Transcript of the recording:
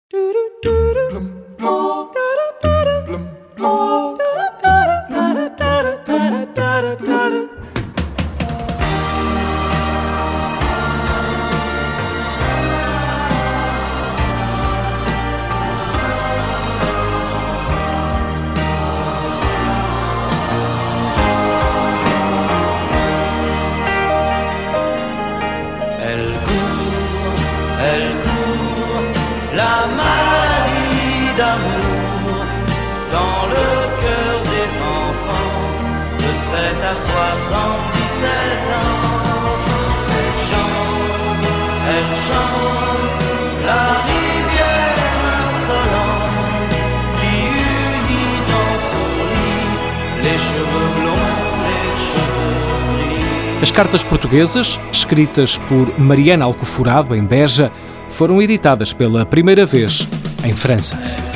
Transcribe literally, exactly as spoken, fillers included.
Elle court, la maladie d'amour, dans le cœur des enfants, de sept à soixante-dix-sept ans. Elle chante, elle chante, la rivière insolente, qui unit dans son lit les cheveux blonds, les cheveux gris. As cartas portuguesas, escritas por Mariana Alcoforado, em Beja, foram editadas pela primeira vez em França.